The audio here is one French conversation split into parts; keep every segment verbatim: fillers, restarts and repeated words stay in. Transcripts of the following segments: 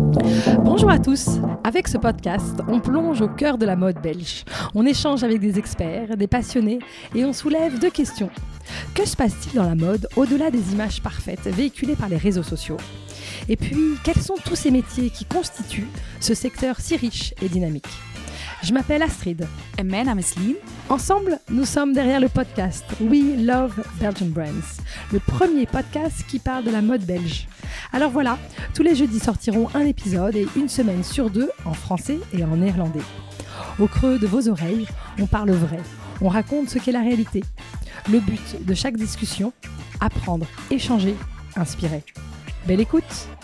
Bonjour à tous. Avec ce podcast, on plonge au cœur de la mode belge. On échange avec des experts, des passionnés et on soulève deux questions. Que se passe-t-il dans la mode au-delà des images parfaites véhiculées par les réseaux sociaux ? Et puis, quels sont tous ces métiers qui constituent ce secteur si riche et dynamique ? Je m'appelle Astrid. En mijn naam is Lien. Ensemble, nous sommes derrière le podcast We Love Belgian Brands, le premier podcast qui parle de la mode belge. Alors voilà, tous les jeudis sortiront un épisode et une semaine sur deux en français et en néerlandais. Au creux de vos oreilles, on parle vrai, on raconte ce qu'est la réalité. Le but de chaque discussion, apprendre, échanger, inspirer. Belle écoute!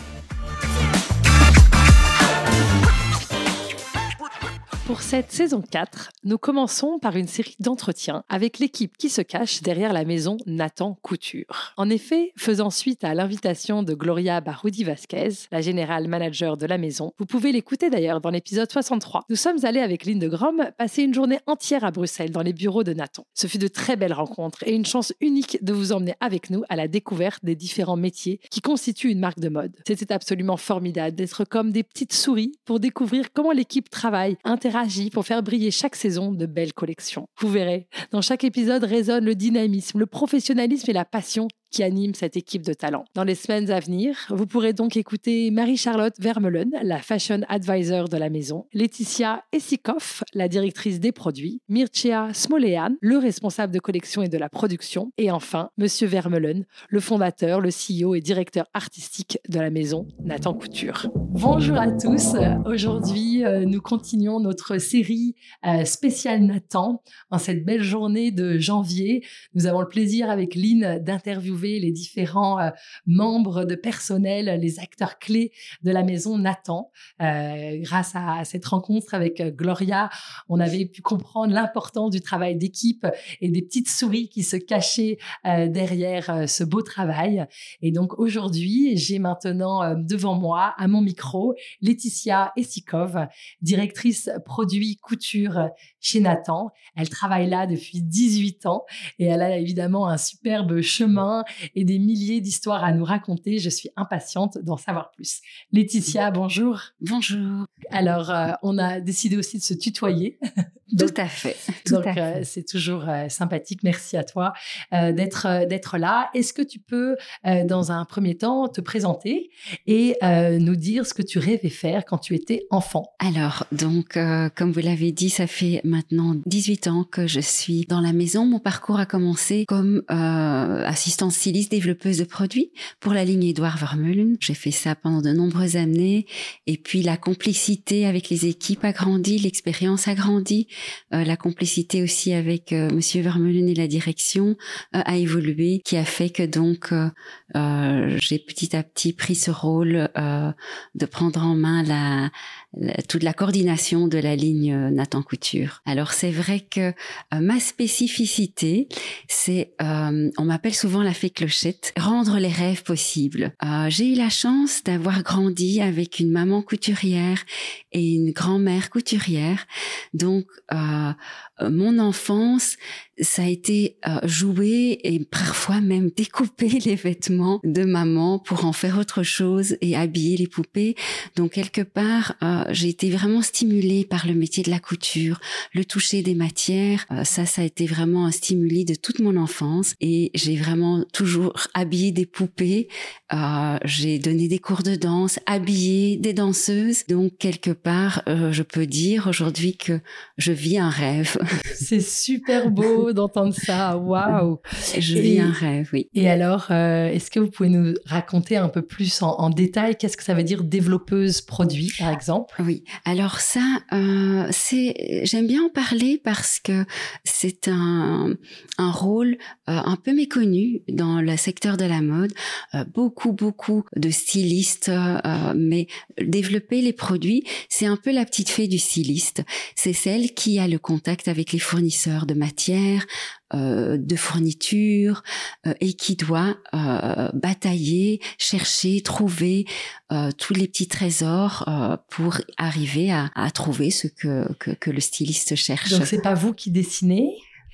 Pour cette saison quatre, nous commençons par une série d'entretiens avec l'équipe qui se cache derrière la maison Nathan Couture. En effet, faisant suite à l'invitation de Gloria Baroudi-Vasquez, la générale manager de la maison, vous pouvez l'écouter d'ailleurs dans l'épisode soixante-trois. Nous sommes allés avec Lynn de Grom passer une journée entière à Bruxelles dans les bureaux de Nathan. Ce fut de très belles rencontres et une chance unique de vous emmener avec nous à la découverte des différents métiers qui constituent une marque de mode. C'était absolument formidable d'être comme des petites souris pour découvrir comment l'équipe travaille, interagit pour faire briller chaque saison de belles collections. Vous verrez, dans chaque épisode résonne le dynamisme, le professionnalisme et la passion qui anime cette équipe de talent. Dans les semaines à venir, vous pourrez donc écouter Marie-Charlotte Vermeulen, la fashion advisor de la maison, Laetitia Essikoff, la directrice des produits, Mircea Smolean, le responsable de collection et de la production, et enfin, Monsieur Vermeulen, le fondateur, le C E O et directeur artistique de la maison Nathan Couture. Bonjour à tous. Aujourd'hui, nous continuons notre série spéciale Nathan en cette belle journée de janvier. Nous avons le plaisir avec Lynn d'interviewer les différents euh, membres de personnel, les acteurs clés de la maison Nathan. Euh, grâce à, à cette rencontre avec euh, Gloria, on avait pu comprendre l'importance du travail d'équipe et des petites souris qui se cachaient euh, derrière euh, ce beau travail. Et donc aujourd'hui, j'ai maintenant euh, devant moi, à mon micro, Laetitia Essikoff, directrice produit couture chez Nathan. Elle travaille là depuis dix-huit ans et elle a évidemment un superbe chemin et des milliers d'histoires à nous raconter. Je suis impatiente d'en savoir plus. Laetitia, bonjour. Bonjour. Alors, euh, on a décidé aussi de se tutoyer. Donc, tout à fait. Tout donc, à fait. Euh, c'est toujours euh, sympathique. Merci à toi euh, d'être, euh, d'être là. Est-ce que tu peux, euh, dans un premier temps, te présenter et euh, nous dire ce que tu rêvais faire quand tu étais enfant? Alors, donc, euh, comme vous l'avez dit, ça fait maintenant dix-huit ans que je suis dans la maison. Mon parcours a commencé comme euh, assistante styliste développeuse de produits pour la ligne Édouard Vermeulen. J'ai fait ça pendant de nombreuses années. Et puis, la complicité avec les équipes a grandi, l'expérience a grandi. Euh, la complicité aussi avec euh, Monsieur Vermeulen et la direction euh, a évolué, qui a fait que donc euh, euh, j'ai petit à petit pris ce rôle euh, de prendre en main la, la, toute la coordination de la ligne euh, Nathan Couture. Alors c'est vrai que euh, ma spécificité, c'est, euh, on m'appelle souvent la fée clochette, rendre les rêves possibles. Euh, j'ai eu la chance d'avoir grandi avec une maman couturière et une grand-mère couturière, donc euh, mon enfance, ça a été euh, jouer et parfois même découper les vêtements de maman pour en faire autre chose et habiller les poupées. Donc quelque part, euh, j'ai été vraiment stimulée par le métier de la couture, le toucher des matières. Euh, ça, ça a été vraiment un stimuli de toute mon enfance et j'ai vraiment toujours habillé des poupées. Euh, j'ai donné des cours de danse, habillé des danseuses. Donc quelque part, euh, je peux dire aujourd'hui que je vis un rêve. C'est super beau d'entendre ça. Waouh! Je et, vis un rêve, oui. Et alors, euh, est-ce que vous pouvez nous raconter un peu plus en, en détail qu'est-ce que ça veut dire développeuse produit, par exemple? Oui. Alors ça, euh, c'est, j'aime bien en parler parce que c'est un, un rôle euh, un peu méconnu dans le secteur de la mode. Euh, beaucoup, beaucoup de stylistes, euh, mais développer les produits, c'est un peu la petite fée du styliste. C'est celle qui a le contact avec les fournisseurs de matières, euh, de fournitures euh, et qui doit euh, batailler, chercher, trouver euh, tous les petits trésors euh, pour arriver à, à trouver ce que, que, que le styliste cherche. Donc c'est pas vous qui dessinez?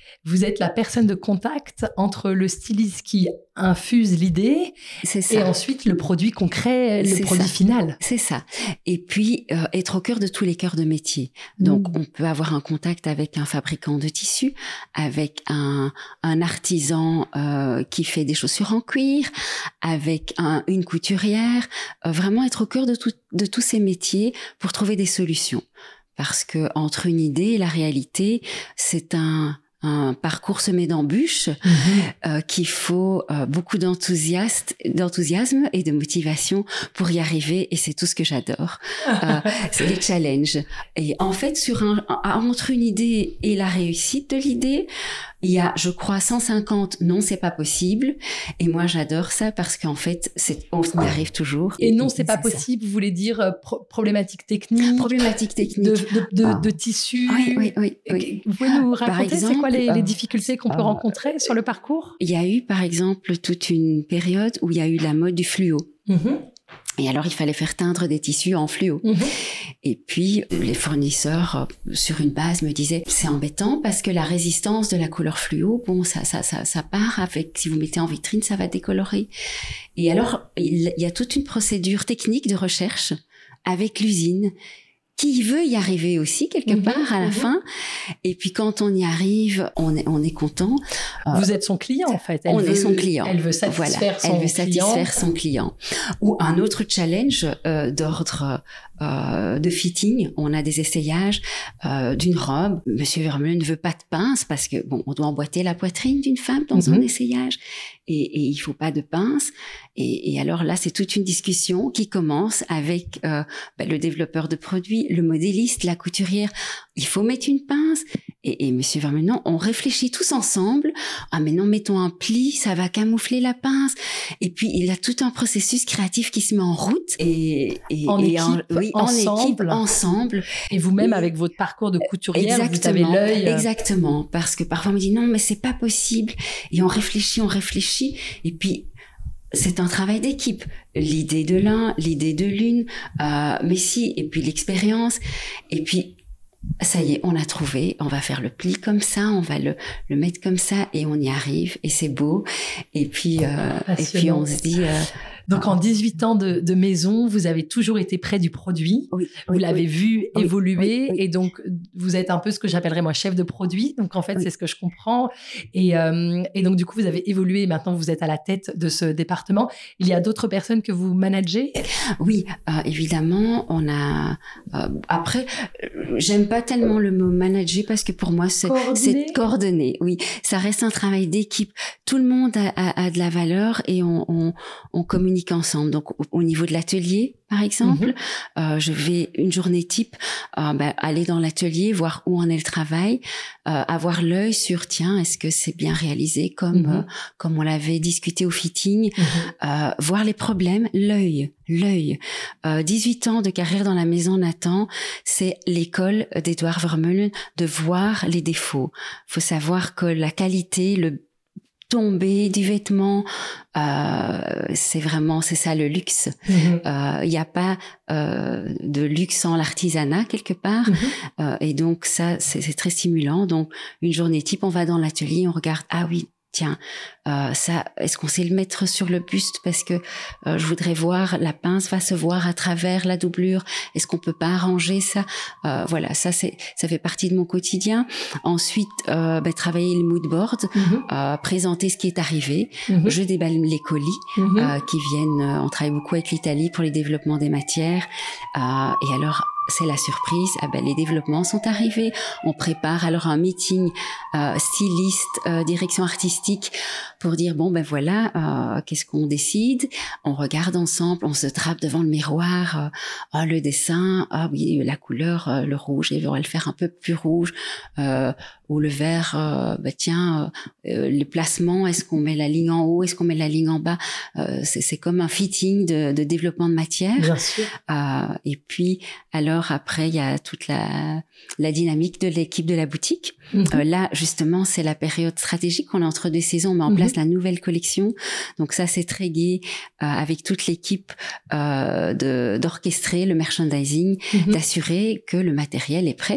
Vous êtes la personne de contact entre le styliste qui infuse l'idée et ensuite le produit concret, le c'est produit ça. final. C'est ça. Et puis, euh, être au cœur de tous les cœurs de métier. Donc, mmh. on peut avoir un contact avec un fabricant de tissus, avec un, un artisan euh, qui fait des chaussures en cuir, avec un, une couturière. Euh, vraiment être au cœur de, tout, de tous ces métiers pour trouver des solutions. Parce que entre une idée et la réalité, c'est un... un parcours semé d'embûches, mmh. euh, qu'il faut euh, beaucoup d'enthousiasme, d'enthousiasme et de motivation pour y arriver, et c'est tout ce que j'adore. euh, c'est les challenges. Et en fait, sur un, entre une idée et la réussite de l'idée, il y a, je crois, cent cinquante non, c'est pas possible. Et moi, j'adore ça parce qu'en fait, c'est, on y arrive toujours. Et non, c'est pas c'est possible, ça. Vous voulez dire euh, pro- problématique technique, problématique technique de, de, de, ah. de tissu. Oui, oui, oui, oui. Vous pouvez nous raconter, exemple, c'est quoi les, euh, les difficultés qu'on peut euh, rencontrer sur le parcours? Il y a eu, par exemple, toute une période où il y a eu la mode du fluo. Mm-hmm. Et alors, il fallait faire teindre des tissus en fluo. Mmh. Et puis, les fournisseurs, sur une base, me disaient, c'est embêtant parce que la résistance de la couleur fluo, bon, ça, ça, ça, ça part avec, si vous mettez en vitrine, ça va décolorer. Et alors, il y a toute une procédure technique de recherche avec l'usine qui veut y arriver aussi quelque mmh, part à la mmh. fin. Et puis quand on y arrive, on est, on est content. Vous êtes son client en fait. Elle on veut, est son client. Elle veut satisfaire voilà, son elle veut client. satisfaire son client. Ou un autre challenge euh, d'ordre euh, de fitting. On a des essayages euh, d'une robe. Monsieur Vermeulen ne veut pas de pince parce que bon, on doit emboîter la poitrine d'une femme dans mmh. un essayage. Et, et il faut pas de pince. Et, et alors là, c'est toute une discussion qui commence avec euh, bah, le développeur de produits, le modéliste, la couturière. Il faut mettre une pince. Et, et Monsieur Vermeulen, non, on réfléchit tous ensemble. Ah mais non, mettons un pli, ça va camoufler la pince. Et puis il y a tout un processus créatif qui se met en route. Et, et en et équipe, en, oui, ensemble. en équipe, ensemble. Et vous-même, et, avec votre parcours de couturière, exactement, vous avez l'œil. Exactement, parce que parfois on me dit non, mais c'est pas possible. Et on réfléchit, on réfléchit. Et puis c'est un travail d'équipe. L'idée de l'un, l'idée de l'une, euh, mais si, et puis l'expérience. Et puis, ça y est, on a trouvé, on va faire le pli comme ça, on va le, le mettre comme ça, et on y arrive, et c'est beau. Et puis, euh, et puis on se dit... Euh, Donc, en dix-huit ans de, de maison, vous avez toujours été près du produit. Oui, vous oui, l'avez oui. vu oui, évoluer. Oui, oui. Et donc, vous êtes un peu ce que j'appellerais, moi, chef de produit. Donc, en fait, oui. c'est ce que je comprends. Et, euh, et donc, du coup, vous avez évolué. Et maintenant, vous êtes à la tête de ce département. Il y a d'autres personnes que vous managez? Oui, euh, évidemment. On a... Euh, après, j'aime pas tellement le mot manager parce que pour moi, c'est coordonner. C'est coordonner. Oui, ça reste un travail d'équipe. Tout le monde a, a, a de la valeur et on, on, on communique ensemble. Donc, au, au niveau de l'atelier, par exemple, mm-hmm. euh, je vais une journée type euh, bah, aller dans l'atelier, voir où en est le travail, euh, avoir l'œil sur tiens, est-ce que c'est bien réalisé comme mm-hmm. euh, comme on l'avait discuté au fitting, mm-hmm. euh, voir les problèmes, l'œil, l'œil. Euh, dix-huit ans de carrière dans la maison Nathan, c'est l'école d'Edouard Vermeulen de voir les défauts. Faut savoir que la qualité, le tomber du vêtement, euh, c'est vraiment, c'est ça le luxe. Il mm-hmm. n'y euh, a pas euh, de luxe sans l'artisanat quelque part. Mm-hmm. Euh, et donc ça, c'est, c'est très stimulant. Donc une journée type, on va dans l'atelier, on regarde, ah oui, tiens, euh, ça, est-ce qu'on sait le mettre sur le buste parce que euh, je voudrais voir, la pince va se voir à travers la doublure. Est-ce qu'on peut pas arranger ça? euh, Voilà, ça c'est, ça fait partie de mon quotidien. Ensuite, euh, ben, travailler le mood board, mm-hmm. euh, présenter ce qui est arrivé. Mm-hmm. Je déballe les colis mm-hmm. euh, qui viennent. Euh, on travaille beaucoup avec l'Italie pour les développements des matières. Euh, et alors. C'est la surprise, ah ben, les développements sont arrivés, on prépare alors un meeting euh, styliste, euh, direction artistique pour dire bon ben voilà, euh, qu'est-ce qu'on décide, on regarde ensemble, on se trappe devant le miroir, euh, oh, le dessin, ah oui la couleur, euh, le rouge, et on va le faire un peu plus rouge, euh, ou le vert, euh, ben tiens, euh, le placement, est-ce qu'on met la ligne en haut, est-ce qu'on met la ligne en bas, euh, c'est, c'est comme un fitting de, de développement de matière. Bien sûr. Euh, et puis alors après, il y a toute la, la dynamique de l'équipe de la boutique. Mm-hmm. Euh, là, justement, c'est la période stratégique. On est entre deux saisons, on met en mm-hmm. place la nouvelle collection. Donc ça, c'est très gai euh, avec toute l'équipe euh, de, d'orchestrer le merchandising, mm-hmm. d'assurer que le matériel est prêt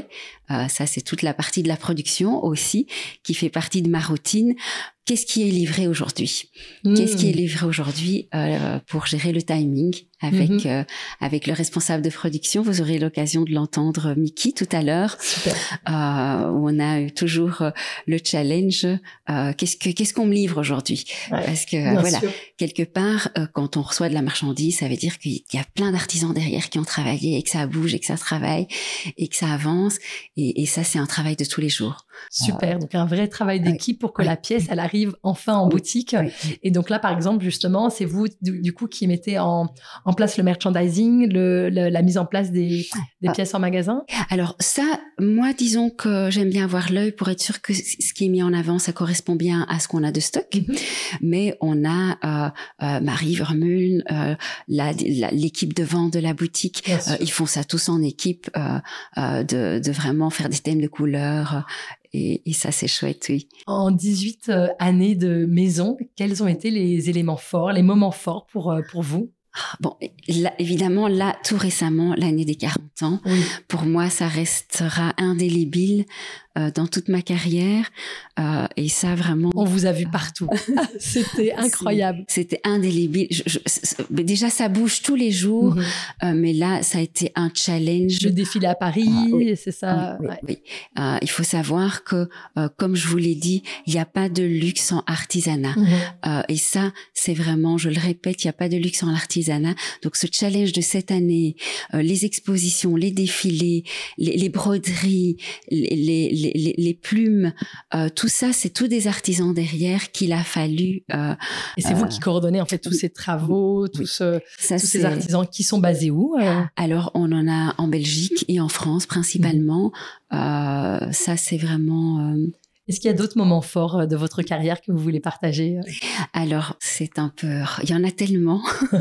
Euh, ça, c'est toute la partie de la production aussi, qui fait partie de ma routine. Qu'est-ce qui est livré aujourd'hui? Mmh. Qu'est-ce qui est livré aujourd'hui euh, pour gérer le timing avec mmh. euh, avec le responsable de production? Vous aurez l'occasion de l'entendre, Mickey, tout à l'heure. Super. Euh, où on a eu toujours euh, le challenge. Euh, qu'est-ce que qu'est-ce qu'on me livre aujourd'hui? Ouais, parce que euh, voilà, sûr. quelque part, euh, quand on reçoit de la marchandise, ça veut dire qu'il y a plein d'artisans derrière qui ont travaillé et que ça bouge et que ça travaille et que ça avance. Et, et ça, c'est un travail de tous les jours. Super. Euh, donc un vrai travail d'équipe ouais, pour que ouais. la pièce elle arrive enfin en oui, boutique. Oui. Et donc là, par exemple, justement, c'est vous du, du coup qui mettez en, en place le merchandising, le, le, la mise en place des, des ah. pièces en magasin. Alors ça, moi, disons que j'aime bien avoir l'œil pour être sûr que ce qui est mis en avant, ça correspond bien à ce qu'on a de stock. Mm-hmm. Mais on a euh, euh, Marie Vermeulen, euh, la, la, l'équipe de vente de la boutique. Euh, ils font ça tous en équipe, euh, euh, de, de vraiment faire des thèmes de couleurs. Et, et ça, c'est chouette, oui. En dix-huit euh, années de maison, quels ont été les éléments forts, les moments forts pour, euh, pour vous? Bon, là, évidemment, là, tout récemment, l'année des quarante ans, oui. pour moi, ça restera indélébile euh, dans toute ma carrière. Euh, et ça, vraiment... On vous a vu partout. C'était incroyable. C'est, c'était indélébile. Je, je, déjà, ça bouge tous les jours. Mm-hmm. Euh, mais là, ça a été un challenge. Le défilé à Paris, euh, oui, c'est ça. Oui, ouais. oui, oui. Euh, il faut savoir que, euh, comme je vous l'ai dit, il n'y a pas de luxe sans artisanat. Mm-hmm. Euh, et ça, c'est vraiment, je le répète, il n'y a pas de luxe sans artisanat. Donc, ce challenge de cette année, euh, les expositions, les défilés, les, les broderies, les, les, les, les plumes, euh, tout ça, c'est tous des artisans derrière qu'il a fallu... Euh, et c'est euh, vous qui coordonnez en fait tous ces travaux, tous, ce, ça, tous ces artisans qui sont basés où euh Alors, on en a en Belgique et en France principalement. Mmh. Euh, ça, c'est vraiment... Euh, Est-ce qu'il y a d'autres moments forts de votre carrière que vous voulez partager? Alors, c'est un peu... Il y en a tellement.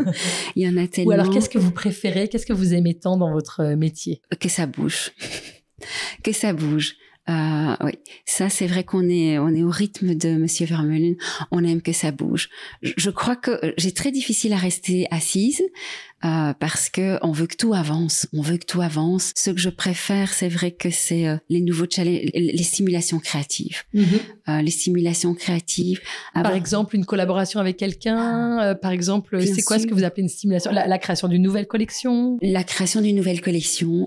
Il y en a tellement. Ou alors, qu'est-ce que vous préférez? Qu'est-ce que vous aimez tant dans votre métier? Que ça bouge. Que ça bouge. Euh, oui, ça c'est vrai qu'on est on est au rythme de Monsieur Vermeulen. On aime que ça bouge. Je, je crois que j'ai très difficile à rester assise euh, parce que on veut que tout avance. On veut que tout avance. Ce que je préfère, c'est vrai que c'est euh, les nouveaux challenges, les stimulations créatives. Mm-hmm. Euh, les stimulations créatives. Par avoir... exemple, une collaboration avec quelqu'un. Euh, par exemple, Bien c'est sûr. Quoi ce que vous appelez une stimulation? La, la création d'une nouvelle collection. La création d'une nouvelle collection.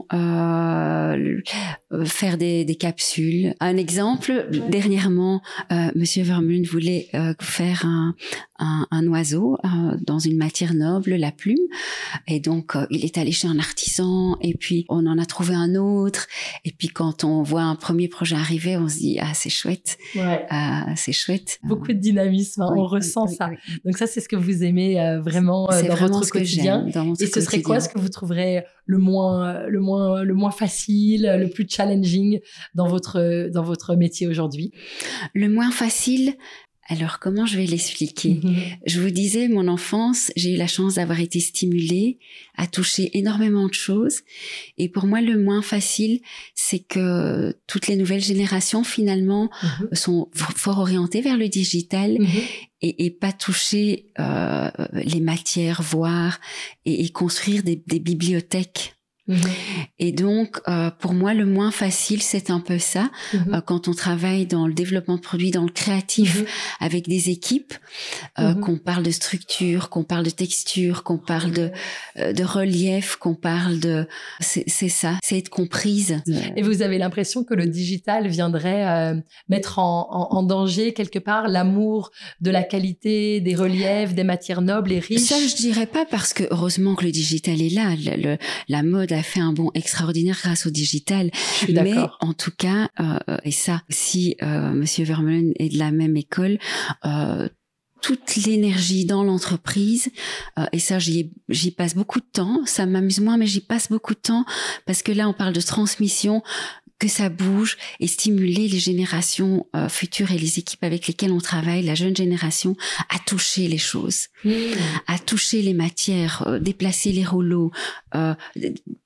Euh, faire des, des capsules. Un exemple, dernièrement, euh, Monsieur Vermeulen voulait euh, faire un, un, un oiseau euh, dans une matière noble, la plume, et donc euh, il est allé chez un artisan, et puis on en a trouvé un autre, et puis quand on voit un premier projet arriver, on se dit ah c'est chouette, ouais. euh, c'est chouette. Beaucoup de dynamisme, hein, oui, on ressent oui, ça. Oui, oui. Donc ça c'est ce que vous aimez euh, vraiment euh, dans vraiment votre quotidien. Dans mon et ce quotidien. Serait quoi ce que vous trouverez le moins, le moins, le moins facile, le plus challenging dans votre, dans votre métier aujourd'hui? Le moins facile, alors comment je vais l'expliquer? Mm-hmm. Je vous disais, mon enfance, j'ai eu la chance d'avoir été stimulée, à toucher énormément de choses. Et pour moi, le moins facile, c'est que toutes les nouvelles générations, finalement, mm-hmm. sont fort orientées vers le digital. Mm-hmm. Et, et pas toucher euh, les matières, voir et, et construire des, des bibliothèques. Mmh. Et donc, euh, pour moi, le moins facile, c'est un peu ça. Mmh. Euh, quand on travaille dans le développement de produits, dans le créatif, mmh. avec des équipes, euh, mmh. qu'on parle de structure, qu'on parle de texture, qu'on parle de, euh, de relief, qu'on parle de... C'est, c'est ça, c'est être comprise. Et vous avez l'impression que le digital viendrait euh, mettre en, en, en danger, quelque part, l'amour de la qualité, des reliefs, des matières nobles et riches? Ça, je dirais pas, parce que heureusement que le digital est là. Le, le, la mode a fait un bond extraordinaire grâce au digital. Mais en tout cas, euh, et ça, si euh, Monsieur Vermeulen est de la même école, euh, toute l'énergie dans l'entreprise, euh, et ça j'y, j'y passe beaucoup de temps, ça m'amuse moins, mais j'y passe beaucoup de temps, parce que là on parle de transmission, que ça bouge, et stimuler les générations euh, futures et les équipes avec lesquelles on travaille, la jeune génération, à toucher les choses, mmh. à toucher les matières, euh, déplacer les rouleaux, euh,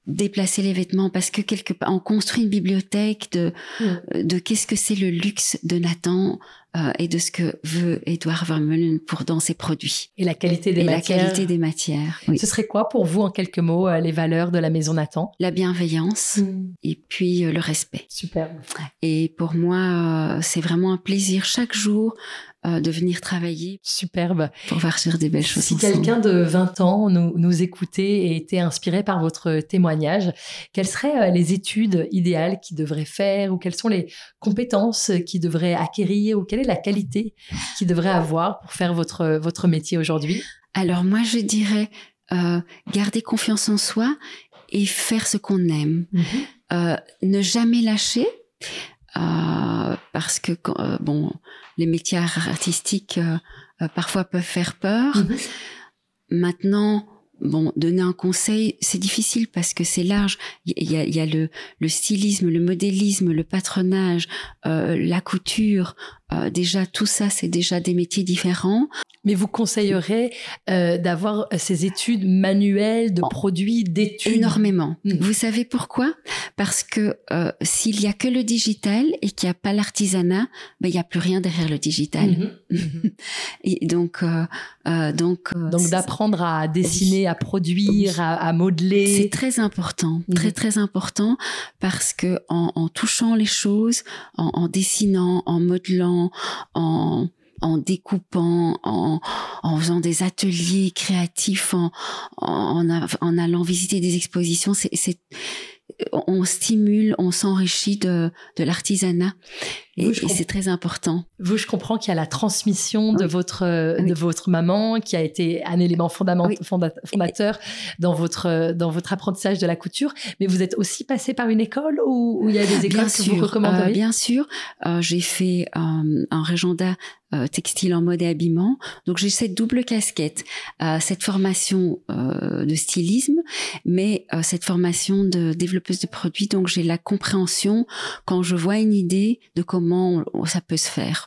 déplacer les vêtements parce que quelque part on construit une bibliothèque de mmh. de qu'est-ce que c'est le luxe de Nathan euh, et de ce que veut Edouard Vermeulen pour dans ses produits et la qualité des et matières. la qualité des matières. Oui. Ce serait quoi pour vous en quelques mots euh, les valeurs de la maison Nathan? La bienveillance mmh. et puis euh, le respect. Superbe. Et pour moi euh, c'est vraiment un plaisir chaque jour Euh, de venir travailler. Superbe. Pour partir des belles choses. Si ensemble. quelqu'un de vingt ans nous, nous écoutait et était inspiré par votre témoignage, quelles seraient les études idéales qu'il devrait faire ou quelles sont les compétences qu'il devrait acquérir ou quelle est la qualité qu'il devrait avoir pour faire votre, votre métier aujourd'hui? Alors moi, je dirais euh, garder confiance en soi et faire ce qu'on aime. Mm-hmm. Euh, ne jamais lâcher. Euh, parce que euh, bon, les métiers artistiques euh, euh, parfois peuvent faire peur. Mmh. Maintenant, bon, donner un conseil, c'est difficile parce que c'est large. Il y a, il y a le, le stylisme, le modélisme, le patronage, euh, la couture. Euh, déjà, tout ça, c'est déjà des métiers différents. Mais vous conseillerez euh, d'avoir ces études manuelles de produits, d'études? Énormément. Mmh. Vous savez pourquoi? Parce que euh, s'il y a que le digital et qu'il n'y a pas l'artisanat, ben il y a plus rien derrière le digital. Mmh. Et donc, euh, euh, donc, euh, donc d'apprendre à dessiner, à produire, à, à modeler. C'est très important, mmh. très très important, parce que en, en touchant les choses, en, en dessinant, en modelant, en en découpant, en, en faisant des ateliers créatifs, en, en, en allant visiter des expositions, c'est, c'est, on stimule, on s'enrichit de, de l'artisanat. Et, vous, et c'est très important. Vous, je comprends qu'il y a la transmission de, oui. votre, oui. de votre maman qui a été un élément fondament, oui. fonda, fondateur dans votre, dans votre apprentissage de la couture. Mais vous êtes aussi passé par une école ou, ou il y a des écoles bien que sûr, vous recommanderiez? euh, Bien sûr. Euh, j'ai fait euh, un régiondat euh, textile en mode et habillement. Donc, j'ai cette double casquette. Euh, cette formation euh, de stylisme, mais euh, cette formation de développeuse de produits. Donc, j'ai la compréhension quand je vois une idée de comment Comment ça peut se faire.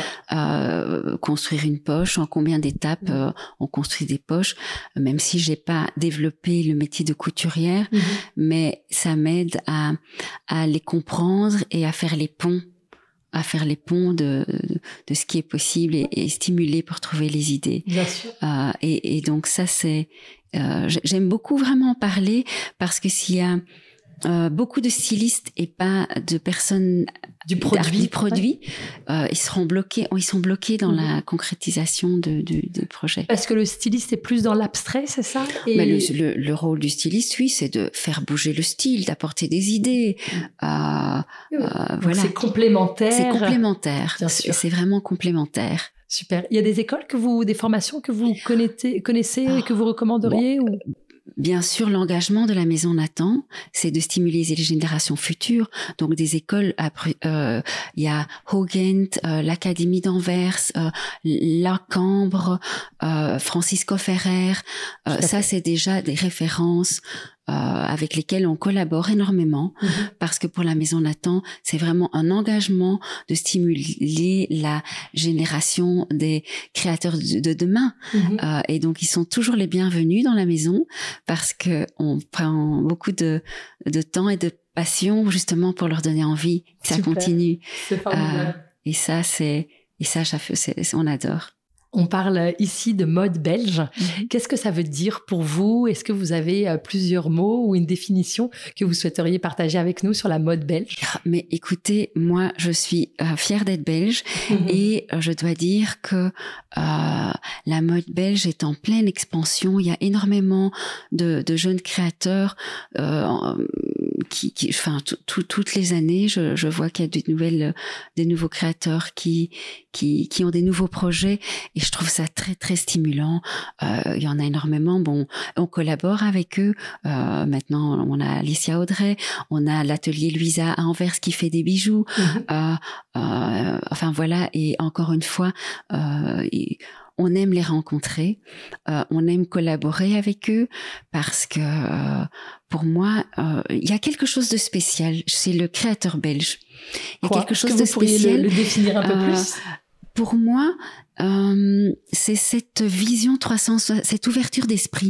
Euh, construire une poche, en combien d'étapes mmh. euh, on construit des poches, même si j'ai pas développé le métier de couturière, mmh. mais ça m'aide à, à les comprendre et à faire les ponts, à faire les ponts de, de ce qui est possible et, et stimuler pour trouver les idées. Bien sûr. Euh, et, et donc ça, c'est, euh, j'aime beaucoup vraiment en parler parce que s'il y a Euh, beaucoup de stylistes et pas de personnes du produit, du produit ouais. euh, ils seront bloqués, ils sont bloqués dans mmh. la concrétisation de, de, de projets. Parce que le styliste est plus dans l'abstrait, c'est ça? Et... Mais le, le, le rôle du styliste, oui, c'est de faire bouger le style, d'apporter des idées. Mmh. Euh, oui. euh, voilà. C'est complémentaire. C'est complémentaire. Bien sûr. C'est vraiment complémentaire. Super. Il y a des écoles que vous, des formations que vous connaissez, connaissez et que vous recommanderiez bon. ou... Bien sûr, l'engagement de la Maison Nathan, c'est de stimuler les générations futures. Donc, des écoles, après, euh, il y a Hogent, euh, l'Académie d'Anvers, euh, la Cambre, euh, Francisco Ferrer. Euh, ça, c'est déjà des références euh, avec lesquelles on collabore énormément. Mm-hmm. Parce que pour la Maison Nathan, c'est vraiment un engagement de stimuler la génération des créateurs de, de demain. Mm-hmm. Euh, et donc, ils sont toujours les bienvenus dans la maison parce que on prend beaucoup de, de temps et de passion justement pour leur donner envie que ça Super. Continue. C'est formidable. Euh, et ça, c'est, et ça, c'est, c'est, on adore. On parle ici de mode belge. Mmh. Qu'est-ce que ça veut dire pour vous? Est-ce que vous avez plusieurs mots ou une définition que vous souhaiteriez partager avec nous sur la mode belge? Mais écoutez, moi, je suis euh, fière d'être belge mmh. et euh, je dois dire que euh, la mode belge est en pleine expansion. Il y a énormément de, de jeunes créateurs euh, qui, qui, enfin, toutes les années, je, je vois qu'il y a des nouvelles, des nouveaux créateurs qui, qui, qui ont des nouveaux projets. Et je trouve ça très, très stimulant. Euh, il y en a énormément. Bon, on collabore avec eux. Euh, maintenant, on a Alicia Audrey, on a l'atelier Louisa à Anvers qui fait des bijoux. Mm-hmm. Euh, euh, enfin, voilà. Et encore une fois, euh, et on aime les rencontrer. Euh, on aime collaborer avec eux parce que, euh, pour moi, euh, il y a quelque chose de spécial. C'est le créateur belge. Il y a Quoi? quelque chose que de vous spécial. Le, le définir un peu euh, plus? Pour moi, euh, c'est cette vision trois cent soixante, cette ouverture d'esprit.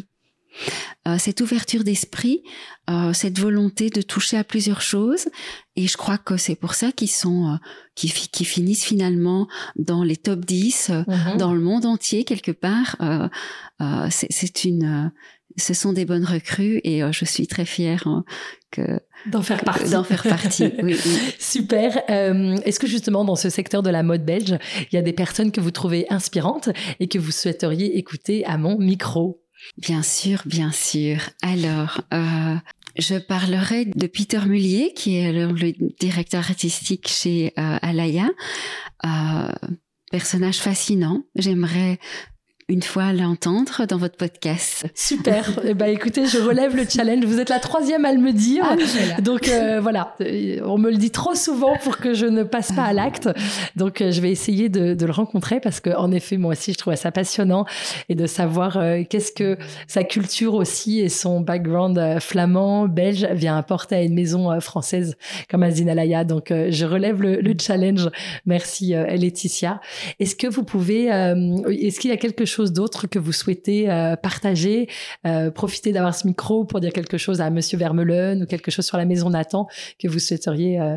Euh, cette ouverture d'esprit, euh, cette volonté de toucher à plusieurs choses. Et je crois que c'est pour ça qu'ils sont, euh, qu'ils, qu'ils finissent finalement dans les top dix, euh, mm-hmm. dans le monde entier quelque part. Euh, euh, c'est, c'est une, euh, ce sont des bonnes recrues et euh, je suis très fière hein, que d'en faire partie. D'en faire partie. Oui, oui. Super. Euh, est-ce que justement dans ce secteur de la mode belge, il y a des personnes que vous trouvez inspirantes et que vous souhaiteriez écouter à mon micro? Bien sûr, bien sûr. Alors, euh, je parlerai de Peter Mullier, qui est le, le directeur artistique chez euh, Alaïa. Euh, personnage fascinant. J'aimerais une fois l'entendre dans votre podcast. Super. Eh ben, écoutez, je relève le challenge. Vous êtes la troisième à le dire. Ah, donc euh, voilà, on me le dit trop souvent pour que je ne passe pas à l'acte. Donc euh, je vais essayer de, de le rencontrer parce que en effet, moi aussi, je trouve ça passionnant et de savoir euh, qu'est-ce que sa culture aussi et son background euh, flamand, belge vient apporter à une maison euh, française comme Azine Alaïa. Donc euh, je relève le, le challenge. Merci euh, Laetitia. Est-ce que vous pouvez, euh, est-ce qu'il y a quelque chose d'autre que vous souhaitez euh, partager, euh, profiter d'avoir ce micro pour dire quelque chose à Monsieur Vermeulen ou quelque chose sur la maison Nathan que vous souhaiteriez euh,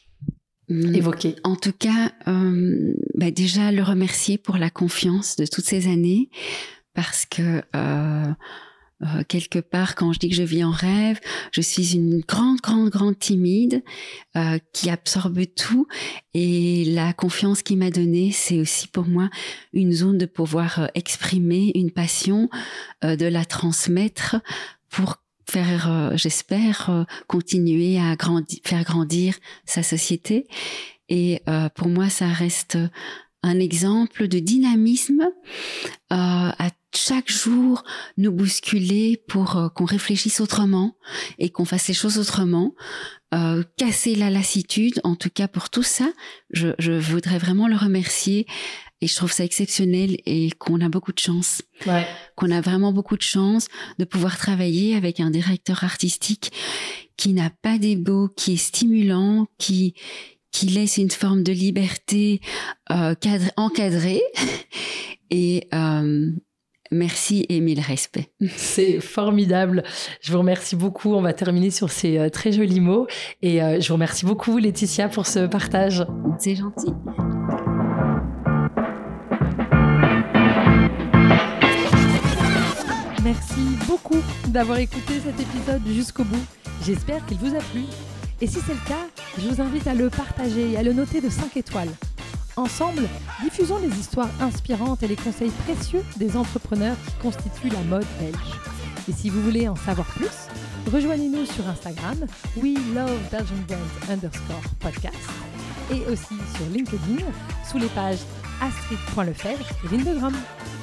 mmh. évoquer? En tout cas, euh, bah déjà le remercier pour la confiance de toutes ces années parce que euh, Euh, quelque part, quand je dis que je vis en rêve, je suis une grande, grande, grande timide euh, qui absorbe tout. Et la confiance qu'il m'a donnée, c'est aussi pour moi une zone de pouvoir euh, exprimer une passion, euh, de la transmettre pour faire, euh, j'espère, euh, continuer à grandi- faire grandir sa société. Et euh, pour moi, ça reste un exemple de dynamisme euh, à chaque jour nous bousculer pour euh, qu'on réfléchisse autrement et qu'on fasse les choses autrement, euh, casser la lassitude. En tout cas, pour tout ça, je, je voudrais vraiment le remercier et je trouve ça exceptionnel et qu'on a beaucoup de chance. Ouais. Qu'on a vraiment beaucoup de chance de pouvoir travailler avec un directeur artistique qui n'a pas d'ego, qui est stimulant, qui qui laisse une forme de liberté euh, cadre, encadrée et euh, merci et mille respects. C'est formidable. Je vous remercie beaucoup. On va terminer sur ces euh, très jolis mots et euh, je vous remercie beaucoup Laetitia pour ce partage. C'est gentil. Merci beaucoup d'avoir écouté cet épisode jusqu'au bout. J'espère qu'il vous a plu. Et si c'est le cas, je vous invite à le partager et à le noter de cinq étoiles. Ensemble, diffusons les histoires inspirantes et les conseils précieux des entrepreneurs qui constituent la mode belge. Et si vous voulez en savoir plus, rejoignez-nous sur Instagram, we love belgian brands underscore podcast, et aussi sur LinkedIn, sous les pages astrid point lefebvre et Lindegram.